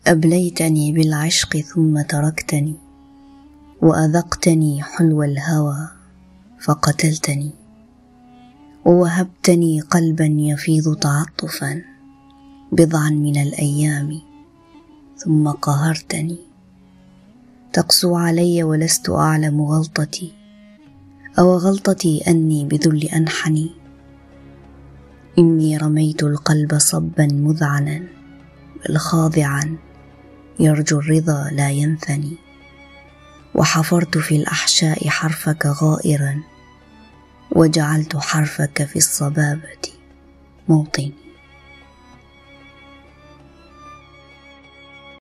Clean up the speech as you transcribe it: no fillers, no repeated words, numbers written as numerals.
أبليتني بالعشق ثم تركتني، وأذقتني حلو الهوى فقتلتني، ووهبتني قلبا يفيض تعطفا بضعا من الأيام ثم قهرتني. تقسو علي ولست أعلم غلطتي، أو غلطتي أني بذل أنحني. إني رميت القلب صبا مذعنا، بل خاضعا يرجو الرضا لا ينثني. وحفرت في الأحشاء حرفك غائرا، وجعلت حرفك في الصبابة موطني.